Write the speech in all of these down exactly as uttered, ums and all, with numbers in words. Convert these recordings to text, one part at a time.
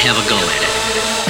have a go at it?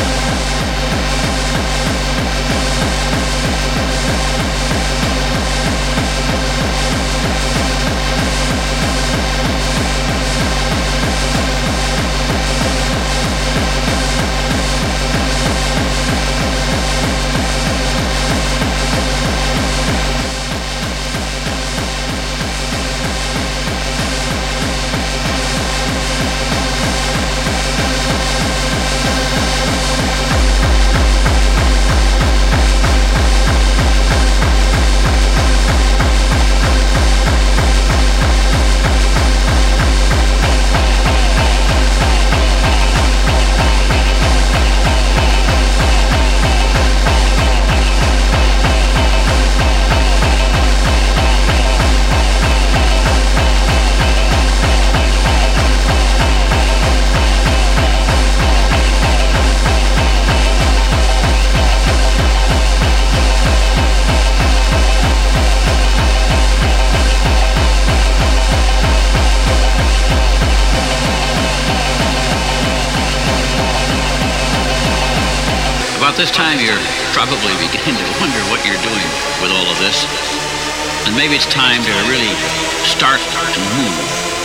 This time you're probably beginning to wonder what you're doing with all of this. And maybe it's time to really start to move.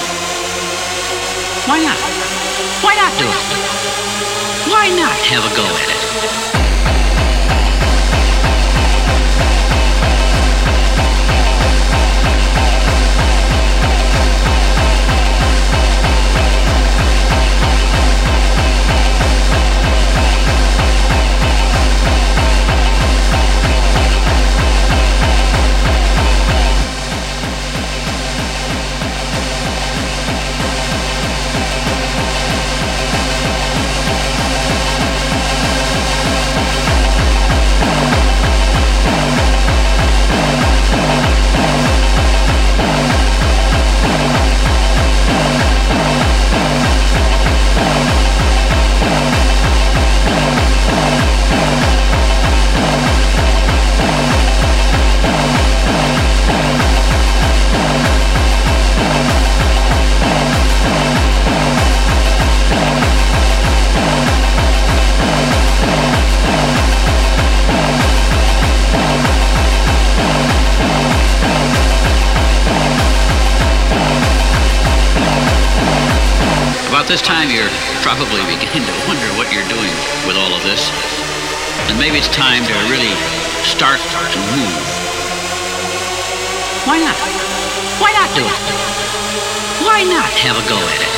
Why not? Why not do it? Why not have a go at it? This time you're probably beginning to wonder what you're doing with all of this. And maybe it's time to really start to move. Why not? Why not do it? Why not have a go at it?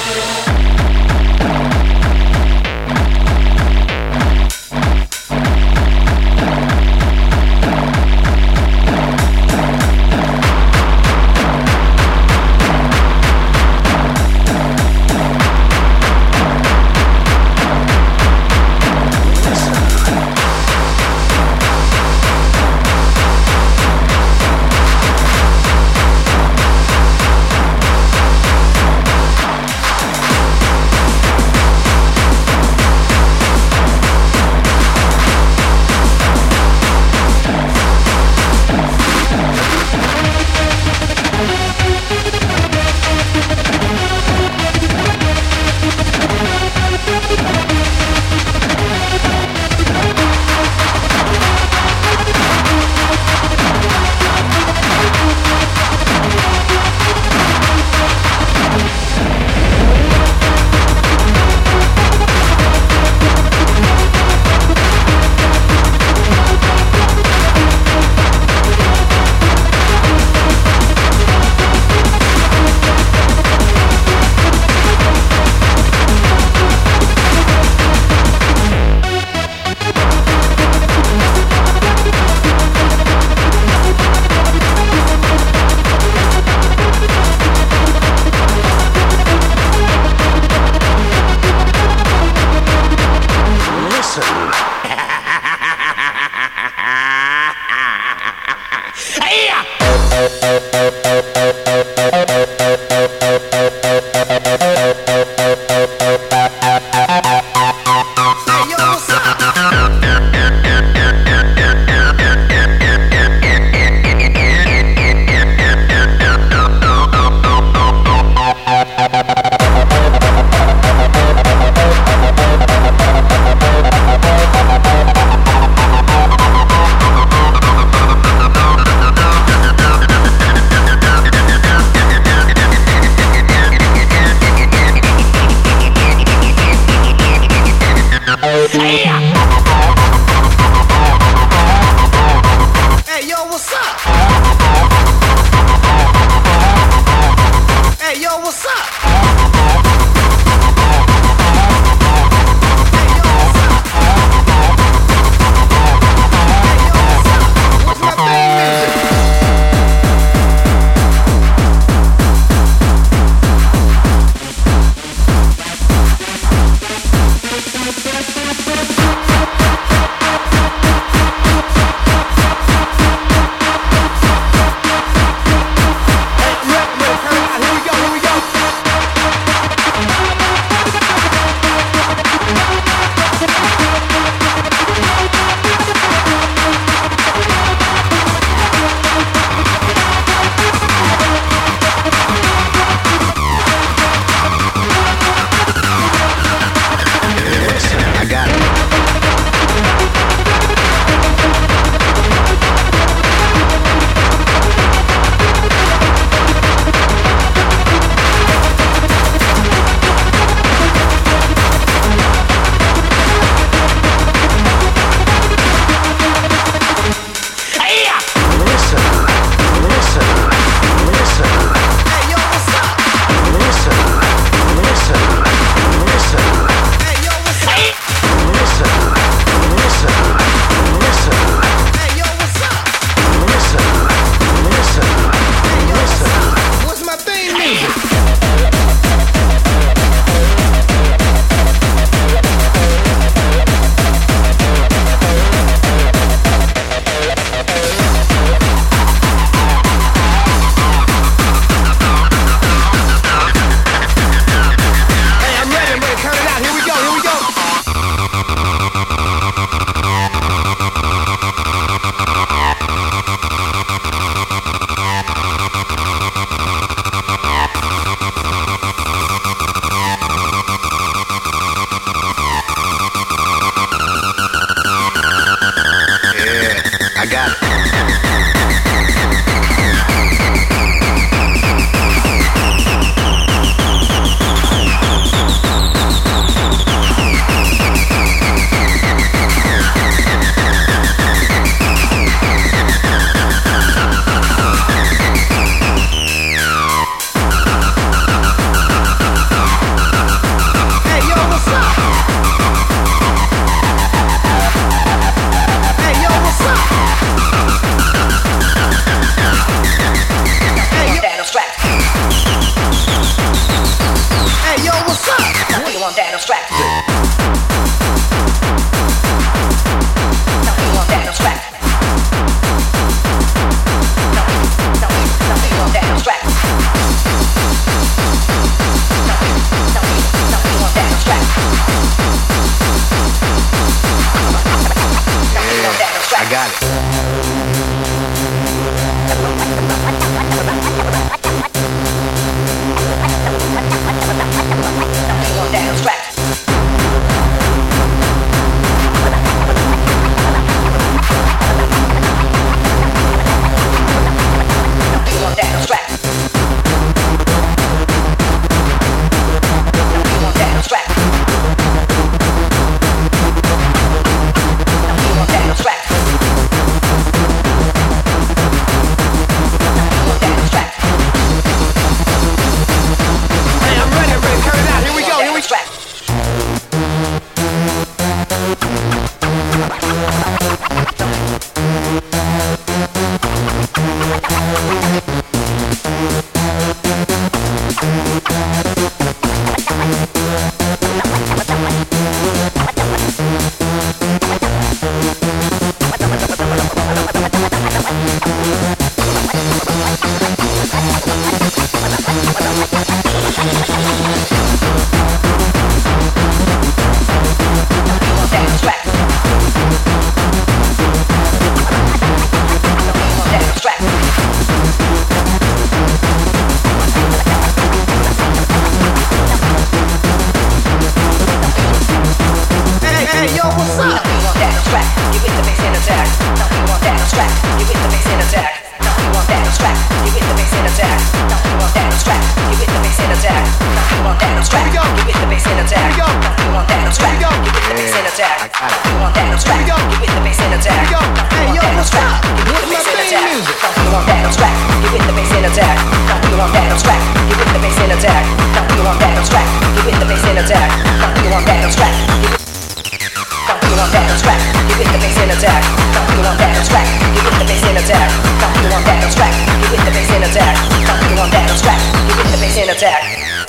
You want that abstract? Get with the bass and attack. Hey yo, what's up? Get with the bass and attack. You want that abstract? Get with the bass and attack. You want that abstract? Get with the bass and attack. You want that abstract? Get with the bass and attack. You want that abstract? You want that abstract? Get with the bass and attack. You want that abstract? Get with the bass and attack. You want that abstract? Get with the bass and attack. You want that abstract? Get with the bass and attack.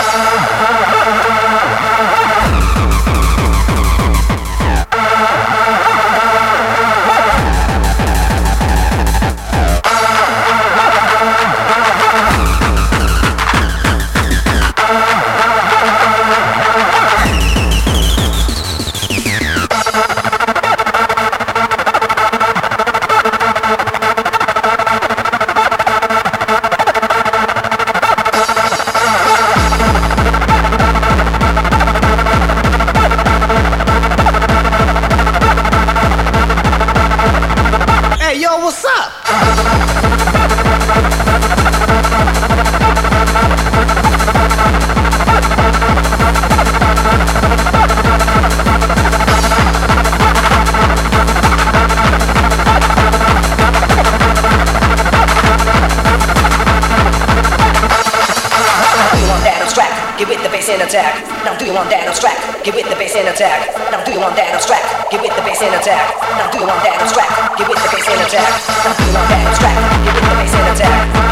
Get with the bass and attack. Now do you want that abstract? Get with the bass and attack. Now do you want that abstract? Get with the bass and attack. Now do you want that abstract? Get with the bass and attack. Now do you want that abstract? Get with the bass and attack.